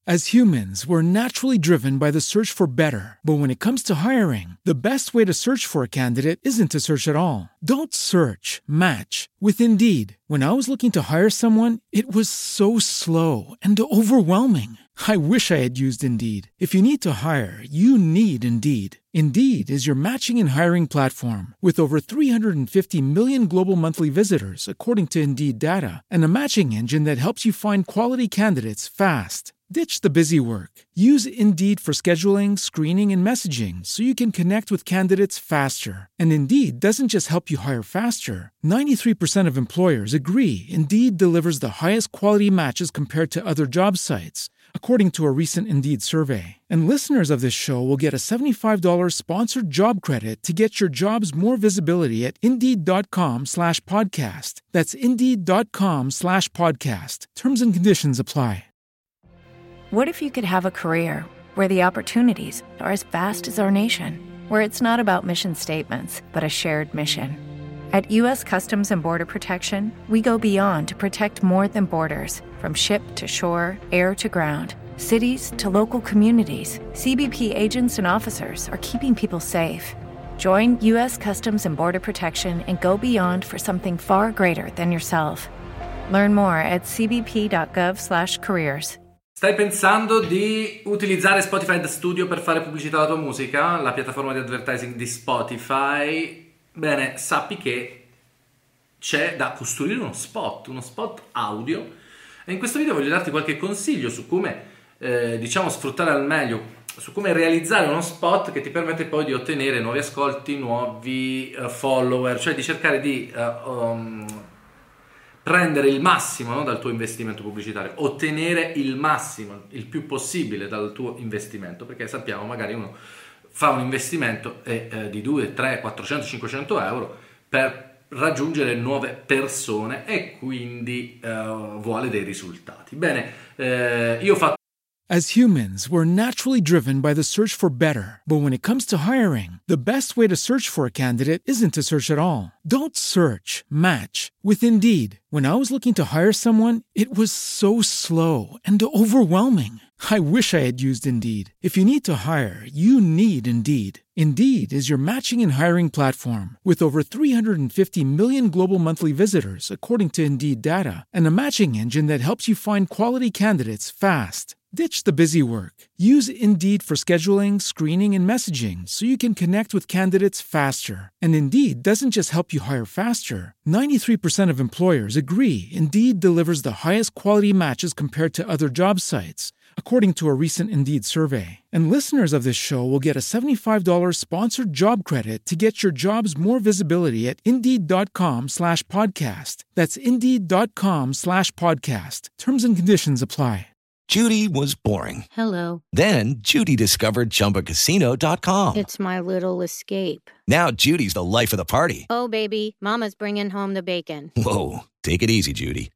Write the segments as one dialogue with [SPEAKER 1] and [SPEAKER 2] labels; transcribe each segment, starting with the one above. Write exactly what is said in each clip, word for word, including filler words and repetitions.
[SPEAKER 1] As humans, we're naturally driven by the search for better. But when it comes to hiring, the best way to search for a candidate isn't to search at all. Don't search, match with Indeed. When I was looking to hire someone, it was so slow and overwhelming. I wish I had used Indeed. If you need to hire, you need Indeed. Indeed is your matching and hiring platform with over three hundred fifty million global monthly visitors, according to Indeed data, and a matching engine that helps you find quality candidates fast. Ditch the busy work. Use Indeed for scheduling, screening, and messaging so you can connect with candidates faster. And Indeed doesn't just help you hire faster. ninety-three percent of employers agree Indeed delivers the highest quality matches compared to other job sites, according to a recent Indeed survey. And listeners of this show will get a seventy-five dollars sponsored job credit to get your jobs more visibility at Indeed.com slash podcast. That's Indeed.com slash podcast. Terms and conditions apply.
[SPEAKER 2] What if you could have a career where the opportunities are as vast as our nation, where it's not about mission statements, but a shared mission? At U S Customs and Border Protection, we go beyond to protect more than borders. From ship to shore, air to ground, cities to local communities, C B P agents and officers are keeping people safe. Join U S Customs and Border Protection and go beyond for something far greater than yourself. Learn more at cbp.gov slash careers.
[SPEAKER 3] Stai pensando di utilizzare Spotify The Studio per fare pubblicità alla tua musica? La piattaforma di advertising di Spotify? Bene, sappi che c'è da costruire uno spot, uno spot audio. E in questo video voglio darti qualche consiglio su come, eh, diciamo, sfruttare al meglio, su come realizzare uno spot che ti permette poi di ottenere nuovi ascolti, nuovi uh, follower, cioè di cercare di uh, um, prendere il massimo, no, dal tuo investimento pubblicitario, ottenere il massimo, il più possibile dal tuo investimento, perché sappiamo magari uno fa un investimento e, eh, di due, tre, quattrocento, cinquecento euro per raggiungere nuove persone e quindi eh, vuole dei risultati. Bene, eh, io ho fatto
[SPEAKER 1] As humans, we're naturally driven by the search for better. But when it comes to hiring, the best way to search for a candidate isn't to search at all. Don't search, match with Indeed. When I was looking to hire someone, it was so slow and overwhelming. I wish I had used Indeed. If you need to hire, you need Indeed. Indeed is your matching and hiring platform with over three hundred fifty million global monthly visitors, according to Indeed data, and a matching engine that helps you find quality candidates fast. Ditch the busy work. Use Indeed for scheduling, screening, and messaging so you can connect with candidates faster. And Indeed doesn't just help you hire faster. ninety-three percent of employers agree Indeed delivers the highest quality matches compared to other job sites, according to a recent Indeed survey. And listeners of this show will get a seventy-five dollars sponsored job credit to get your jobs more visibility at Indeed.com slash podcast. That's Indeed.com slash podcast. Terms and conditions apply.
[SPEAKER 4] Judy was boring.
[SPEAKER 5] Hello.
[SPEAKER 4] Then Judy discovered Chumba Casino dot com.
[SPEAKER 5] It's my little escape.
[SPEAKER 4] Now Judy's the life of the party.
[SPEAKER 5] Oh, baby, mama's bringing home the bacon.
[SPEAKER 4] Whoa, take it easy, Judy.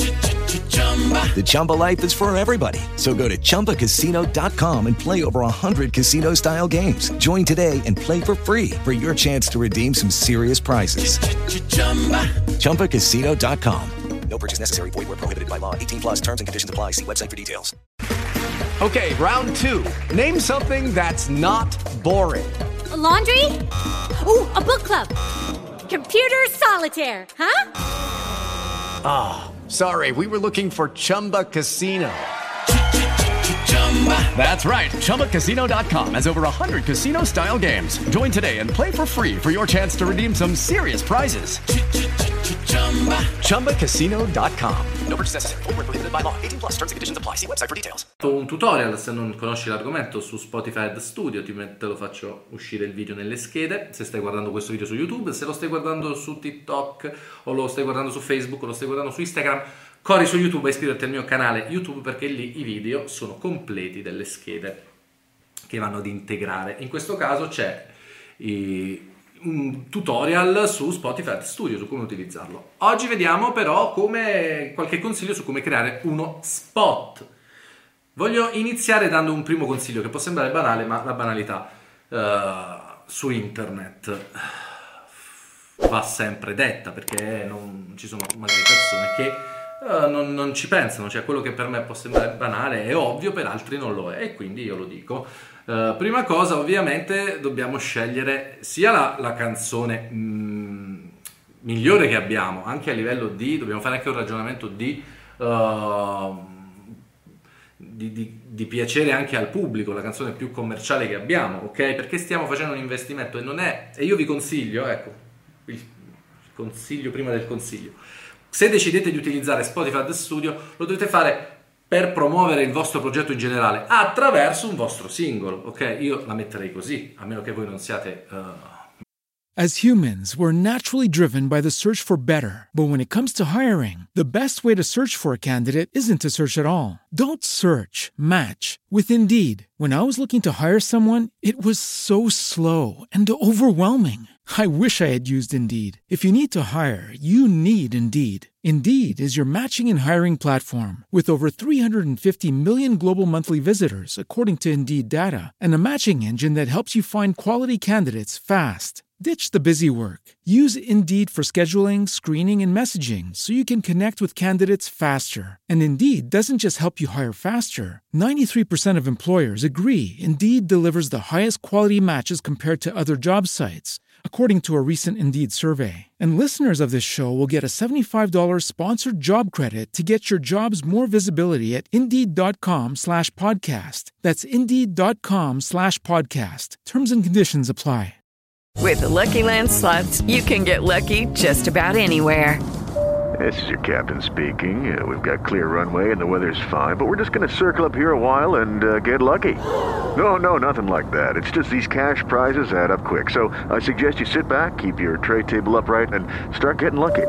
[SPEAKER 4] The Chumba life is for everybody. So go to Chumba Casino dot com and play over one hundred casino-style games. Join today and play for free for your chance to redeem some serious prizes. Chumba Casino dot com. No purchase necessary. Void where prohibited by law. eighteen plus terms and conditions apply. See website for details.
[SPEAKER 6] Okay, round two. Name something that's not boring.
[SPEAKER 7] A laundry? Ooh, a book club. Computer solitaire, huh?
[SPEAKER 6] Ah, oh, sorry. We were looking for Chumba Casino. That's right. Chumba Casino dot com has over one hundred casino-style games. Join today and play for free for your chance to redeem some serious prizes. Chumba Casino dot com. No purchase necessary. Void where prohibited by law. eighteen plus terms and conditions apply. See website for details.
[SPEAKER 3] Un tutorial, se non conosci l'argomento, su Spotify The Studio, ti met- te lo faccio uscire il video nelle schede. Se stai guardando questo video su YouTube, se lo stai guardando su TikTok o lo stai guardando su Facebook o lo stai guardando su Instagram, corri su YouTube e iscriviti al mio canale YouTube, perché lì i video sono completi delle schede che vanno ad integrare. In questo caso c'è i un tutorial su Spotify Studio, su come utilizzarlo. Oggi vediamo però come qualche consiglio su come creare uno spot. Voglio iniziare dando un primo consiglio che può sembrare banale, ma la banalità uh, su internet va sempre detta, perché non ci sono magari persone che uh, non, non ci pensano, cioè quello che per me può sembrare banale è ovvio, per altri non lo è, e quindi io lo dico. Uh, prima cosa, ovviamente dobbiamo scegliere sia la, la canzone mh, migliore che abbiamo, anche a livello di, dobbiamo fare anche un ragionamento di, uh, di, di, di piacere anche al pubblico, la canzone più commerciale che abbiamo, ok? Perché stiamo facendo un investimento e non è, e io vi consiglio, ecco, il consiglio prima del consiglio, se decidete di utilizzare Spotify Ad Studio lo dovete fare per promuovere il vostro progetto in generale attraverso un vostro singolo, ok? Io la metterei così, a meno che voi non siate... Uh...
[SPEAKER 1] As humans, we're naturally driven by the search for better. But when it comes to hiring, the best way to search for a candidate isn't to search at all. Don't search, match with Indeed. When I was looking to hire someone, it was so slow and overwhelming. I wish I had used Indeed. If you need to hire, you need Indeed. Indeed is your matching and hiring platform with over three hundred fifty million global monthly visitors, according to Indeed data, and a matching engine that helps you find quality candidates fast. Ditch the busy work. Use Indeed for scheduling, screening, and messaging so you can connect with candidates faster. And Indeed doesn't just help you hire faster. ninety-three percent of employers agree Indeed delivers the highest quality matches compared to other job sites, according to a recent Indeed survey. And listeners of this show will get a seventy-five dollars sponsored job credit to get your jobs more visibility at Indeed.com slash podcast. That's Indeed.com slash podcast. Terms and conditions apply.
[SPEAKER 8] With the Lucky Land Slots, you can get lucky just about anywhere.
[SPEAKER 9] This is your captain speaking. Uh, we've got clear runway and the weather's fine, but we're just going to circle up here a while and uh, get lucky. No, no, nothing like that. It's just these cash prizes add up quick. So I suggest you sit back, keep your tray table upright, and start getting lucky.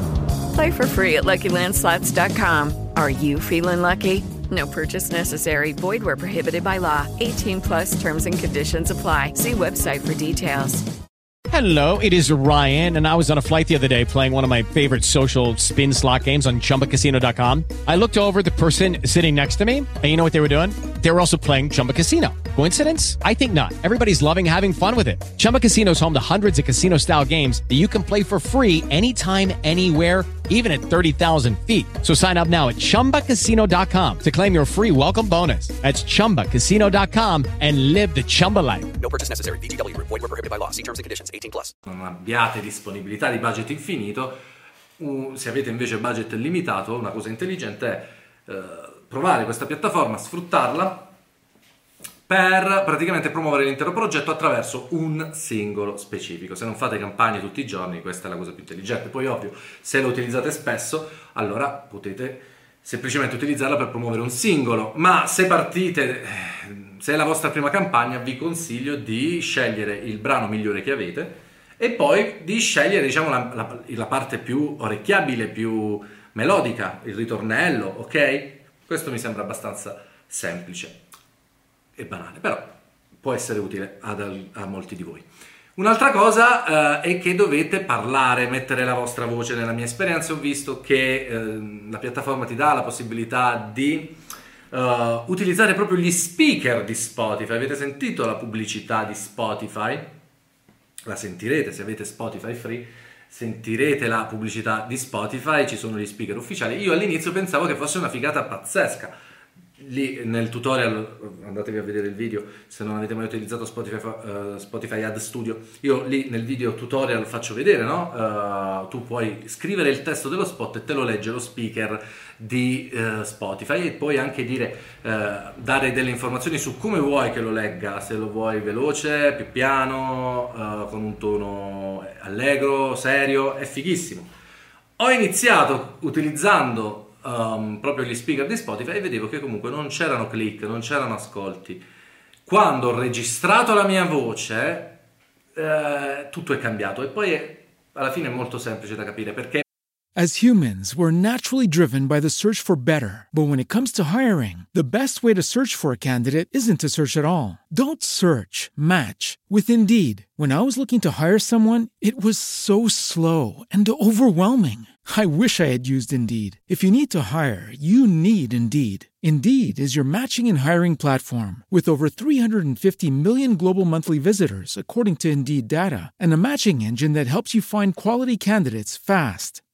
[SPEAKER 8] Play for free at Lucky Land Slots dot com. Are you feeling lucky? No purchase necessary. Void where prohibited by law. eighteen plus terms and conditions apply. See website for details.
[SPEAKER 10] Hello, it is Ryan, and I was on a flight the other day playing one of my favorite social spin slot games on Chumba Casino dot com. I looked over at the person sitting next to me, and you know what they were doing? They were also playing Chumba Casino. Coincidence? I think not. Everybody's loving having fun with it. Chumba Casino is home to hundreds of casino-style games that you can play for free anytime, anywhere, even at thirty thousand feet. So sign up now at Chumba Casino dot com to claim your free welcome bonus. That's Chumba Casino dot com and live the Chumba life.
[SPEAKER 11] No purchase necessary. V G W. Void where prohibited by law. See terms and conditions. eighteen plus.
[SPEAKER 3] Non abbiate disponibilità di budget infinito, uh, se avete invece budget limitato, una cosa intelligente è uh, provare questa piattaforma, sfruttarla per praticamente promuovere l'intero progetto attraverso un singolo specifico. Se non fate campagne tutti i giorni, questa è la cosa più intelligente. Poi ovvio, se lo utilizzate spesso, allora potete semplicemente utilizzarla per promuovere un singolo, ma se partite, se è la vostra prima campagna, vi consiglio di scegliere il brano migliore che avete e poi di scegliere, diciamo, la, la, la parte più orecchiabile, più melodica, il ritornello, ok? Questo mi sembra abbastanza semplice e banale, però può essere utile ad, a molti di voi. Un'altra cosa eh, è che dovete parlare, mettere la vostra voce. Nella mia esperienza ho visto che eh, la piattaforma ti dà la possibilità di uh, utilizzare proprio gli speaker di Spotify. Avete sentito la pubblicità di Spotify? La sentirete se avete Spotify free, sentirete la pubblicità di Spotify, ci sono gli speaker ufficiali. Io all'inizio pensavo che fosse una figata pazzesca. Lì nel tutorial, andatevi a vedere il video se non avete mai utilizzato Spotify, uh, Spotify Ad Studio, io lì nel video tutorial faccio vedere, no? Uh, tu puoi scrivere il testo dello spot e te lo legge lo speaker di uh, Spotify e puoi anche dire, uh, dare delle informazioni su come vuoi che lo legga, se lo vuoi veloce, più piano, uh, con un tono allegro, serio, è fighissimo. Ho iniziato utilizzando Um, proprio gli speaker di Spotify e vedevo che comunque non c'erano click, non c'erano ascolti. Quando ho registrato la mia voce eh, tutto è cambiato e poi è, alla fine è molto semplice da capire perché
[SPEAKER 1] As humans, we're naturally driven by the search for better. But when it comes to hiring, the best way to search for a candidate isn't to search at all. Don't search, match with Indeed. When I was looking to hire someone, it was so slow and overwhelming. I wish I had used Indeed. If you need to hire, you need Indeed. Indeed is your matching and hiring platform with over three hundred fifty million global monthly visitors, according to Indeed data, and a matching engine that helps you find quality candidates fast.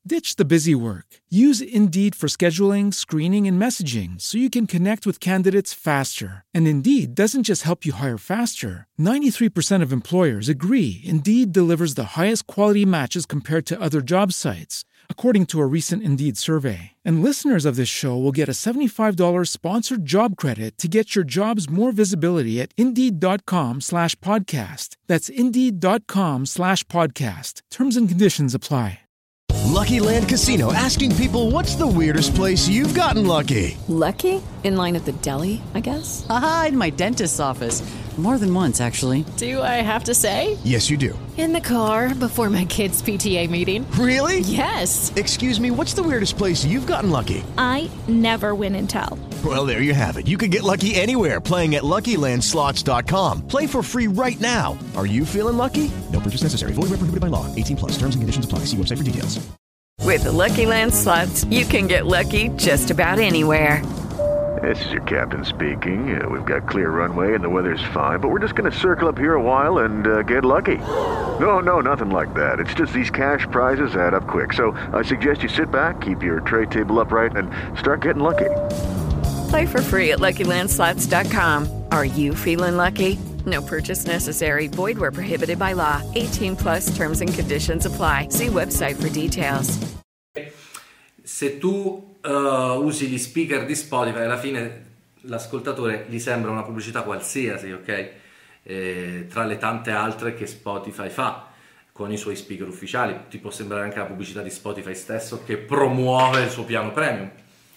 [SPEAKER 1] Ditch the busy work. Use Indeed for scheduling, screening, and messaging so you can connect with candidates faster. And Indeed doesn't just help you hire faster. ninety-three percent of employers agree Indeed delivers the highest quality matches compared to other job sites, according to a recent Indeed survey. And listeners of this show will get a seventy-five dollars sponsored job credit to get your jobs more visibility at Indeed.com slash podcast. That's Indeed.com slash podcast. Terms and conditions apply.
[SPEAKER 12] Lucky Land Casino, asking people, what's the weirdest place you've gotten lucky?
[SPEAKER 8] Lucky? In line at the deli, I guess?
[SPEAKER 13] Aha, in my dentist's office. More than once, actually.
[SPEAKER 14] Do I have to say?
[SPEAKER 12] Yes, you do.
[SPEAKER 14] In the car before my kids' P T A meeting.
[SPEAKER 12] Really?
[SPEAKER 14] Yes.
[SPEAKER 12] Excuse me, what's the weirdest place you've gotten lucky?
[SPEAKER 15] I never win and tell.
[SPEAKER 12] Well, there you have it. You can get lucky anywhere, playing at Lucky Land Slots dot com. Play for free right now. Are you feeling lucky? No purchase necessary. Void where prohibited by law. eighteen plus. Terms and conditions apply. See website for details.
[SPEAKER 8] With the Lucky Land Slots, you can get lucky just about anywhere.
[SPEAKER 9] This is your captain speaking. Uh, we've got clear runway and the weather's fine, but we're just going to circle up here a while and uh, get lucky. No, no, nothing like that. It's just these cash prizes add up quick. So I suggest you sit back, keep your tray table upright, and start getting lucky.
[SPEAKER 8] Play for free at Lucky Land Slots dot com. Are you feeling lucky? No purchase necessary. Void where prohibited by law. eighteen plus terms and conditions apply. See website for details.
[SPEAKER 3] Se tu uh, usi gli speaker di Spotify, alla fine l'ascoltatore gli sembra una pubblicità qualsiasi, ok? Eh, tra le tante altre che Spotify fa con i suoi speaker ufficiali. Ti può sembrare anche la pubblicità di Spotify stesso che promuove il suo piano premium.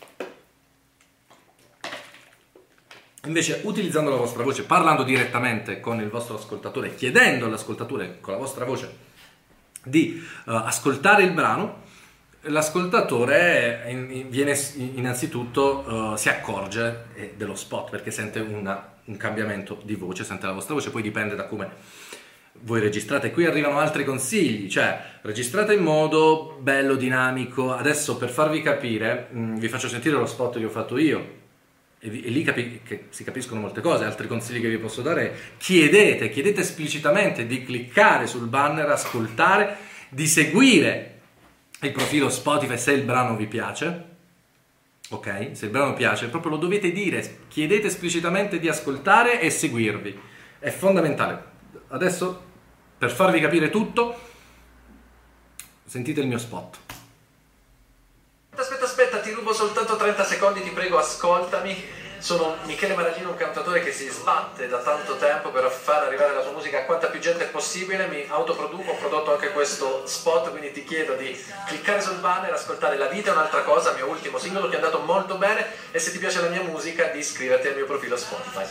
[SPEAKER 3] Invece, utilizzando la vostra voce, parlando direttamente con il vostro ascoltatore, chiedendo all'ascoltatore con la vostra voce di uh, ascoltare il brano, l'ascoltatore in, in, viene innanzitutto uh, si accorge eh, dello spot, perché sente una, un cambiamento di voce, sente la vostra voce. Poi dipende da come voi registrate. Qui arrivano altri consigli, cioè registrate in modo bello, dinamico. Adesso, per farvi capire, mh, vi faccio sentire lo spot che ho fatto io. E, vi, e lì capi, che si capiscono molte cose. Altri consigli che vi posso dare è: chiedete, chiedete esplicitamente di cliccare sul banner, ascoltare, di seguire il profilo Spotify se il brano vi piace, ok? Se il brano piace, proprio lo dovete dire, chiedete esplicitamente di ascoltare e seguirvi, è fondamentale. Adesso, per farvi capire tutto, sentite il mio spot. Aspetta, aspetta, ti rubo soltanto trenta secondi, ti prego, ascoltami. Sono Michele Maragino, un cantautore che si sbatte da tanto tempo per far arrivare la sua musica a quanta più gente possibile. Mi autoproduco, ho prodotto anche questo spot, quindi ti chiedo di cliccare sul banner, ascoltare La vita è un'altra cosa, mio ultimo singolo che è andato molto bene, e se ti piace la mia musica di iscriverti al mio profilo Spotify.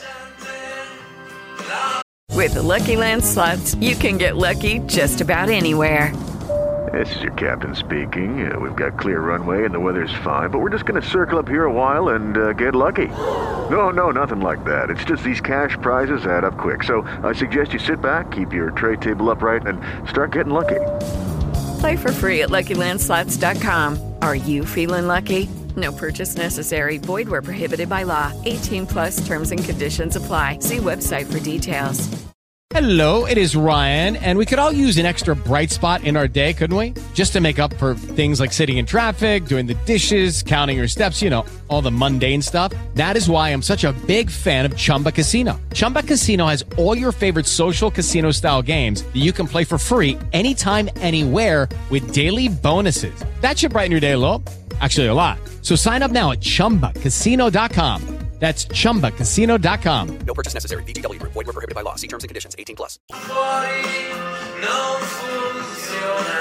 [SPEAKER 8] With the Lucky Land Slots, you can get lucky just about anywhere.
[SPEAKER 9] This is your captain speaking. Uh, we've got clear runway and the weather's fine, but we're just going to circle up here a while and uh, get lucky. No, no, nothing like that. It's just these cash prizes add up quick. So I suggest you sit back, keep your tray table upright, and start getting lucky.
[SPEAKER 8] Play for free at Lucky Land Slots dot com. Are you feeling lucky? No purchase necessary. Void where prohibited by law. eighteen plus terms and conditions apply. See website for details.
[SPEAKER 10] Hello, it is Ryan, and we could all use an extra bright spot in our day, couldn't we? Just to make up for things like sitting in traffic, doing the dishes, counting your steps, you know, all the mundane stuff. That is why I'm such a big fan of Chumba Casino. Chumba Casino has all your favorite social casino-style games that you can play for free anytime, anywhere with daily bonuses. That should brighten your day a little. Actually, a lot. So sign up now at Chumba Casino dot com. That's Chumba Casino dot com.
[SPEAKER 11] No purchase necessary. V G W. Void where prohibited by law. See terms and conditions. eighteen plus.
[SPEAKER 3] Fuori non funziona.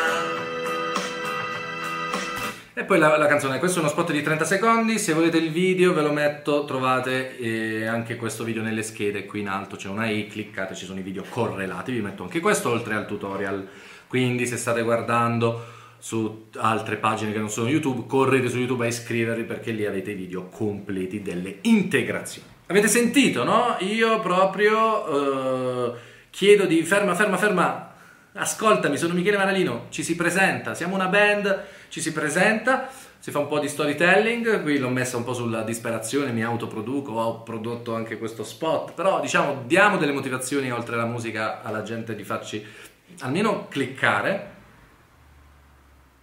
[SPEAKER 3] E poi la, la canzone. Questo è uno spot di trenta secondi. Se volete il video ve lo metto. Trovate eh, anche questo video nelle schede. Qui in alto c'è una i. Cliccate, ci sono i video correlati. Vi metto anche questo oltre al tutorial. Quindi se state guardando su altre pagine che non sono YouTube, correte su YouTube a iscrivervi, perché lì avete i video completi delle integrazioni. Avete sentito, no? Io proprio eh, chiedo di ferma, ferma, ferma, ascoltami, sono Michele Maralino, ci si presenta, siamo una band, ci si presenta, si fa un po' di storytelling. Qui l'ho messa un po' sulla disperazione, mi autoproduco, ho prodotto anche questo spot, però diciamo diamo delle motivazioni oltre alla musica alla gente, di farci almeno cliccare.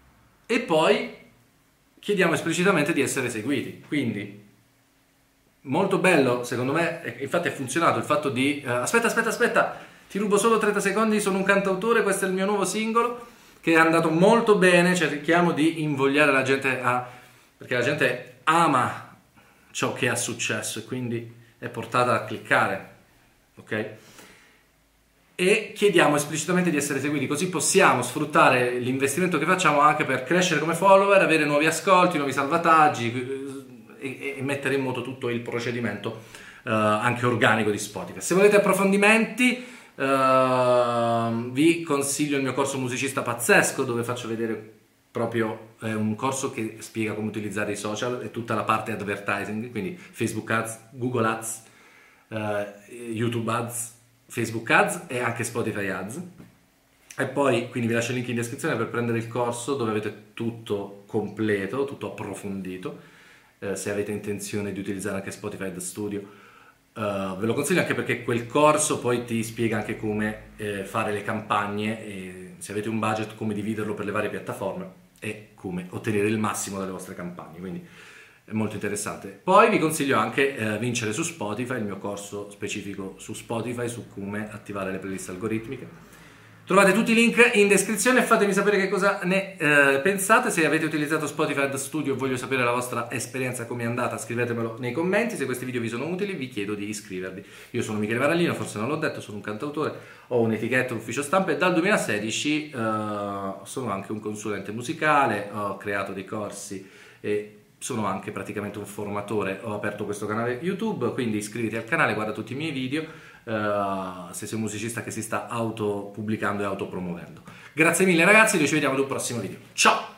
[SPEAKER 3] e poi chiediamo esplicitamente di essere seguiti. Quindi molto bello, secondo me, infatti è funzionato il fatto di uh, aspetta, aspetta, aspetta, ti rubo solo trenta secondi, sono un cantautore, questo è il mio nuovo singolo, che è andato molto bene, cerchiamo di invogliare la gente a... perché la gente ama ciò che ha successo e quindi è portata a cliccare, ok? E chiediamo esplicitamente di essere seguiti, così possiamo sfruttare l'investimento che facciamo anche per crescere come follower, avere nuovi ascolti, nuovi salvataggi e, e mettere in moto tutto il procedimento uh, anche organico di Spotify. Se volete approfondimenti uh, vi consiglio il mio corso Musicista Pazzesco, dove faccio vedere proprio eh, un corso che spiega come utilizzare i social e tutta la parte advertising, quindi Facebook Ads, Google Ads, uh, YouTube Ads, Facebook Ads e anche Spotify Ads. E poi quindi vi lascio il link in descrizione per prendere il corso, dove avete tutto completo, tutto approfondito. Eh, se avete intenzione di utilizzare anche Spotify Ad Studio, uh, ve lo consiglio, anche perché quel corso poi ti spiega anche come eh, fare le campagne e, se avete un budget, come dividerlo per le varie piattaforme e come ottenere il massimo dalle vostre campagne. Quindi è molto interessante. Poi vi consiglio anche eh, Vincere su Spotify, il mio corso specifico su Spotify, su come attivare le playlist algoritmiche. Trovate tutti i link in descrizione e fatemi sapere che cosa ne eh, pensate. Se avete utilizzato Spotify Ad Studio, voglio sapere la vostra esperienza, come è andata, scrivetemelo nei commenti. Se questi video vi sono utili, vi chiedo di iscrivervi. Io sono Michele Varallino, forse non l'ho detto, sono un cantautore, ho un'etichetta, un ufficio stampa e dal duemilasedici eh, sono anche un consulente musicale, ho creato dei corsi e sono anche praticamente un formatore. Ho aperto questo canale YouTube, quindi iscriviti al canale, guarda tutti i miei video uh, se sei un musicista che si sta autopubblicando e autopromuovendo. Grazie mille ragazzi, noi ci vediamo ad un prossimo video. Ciao!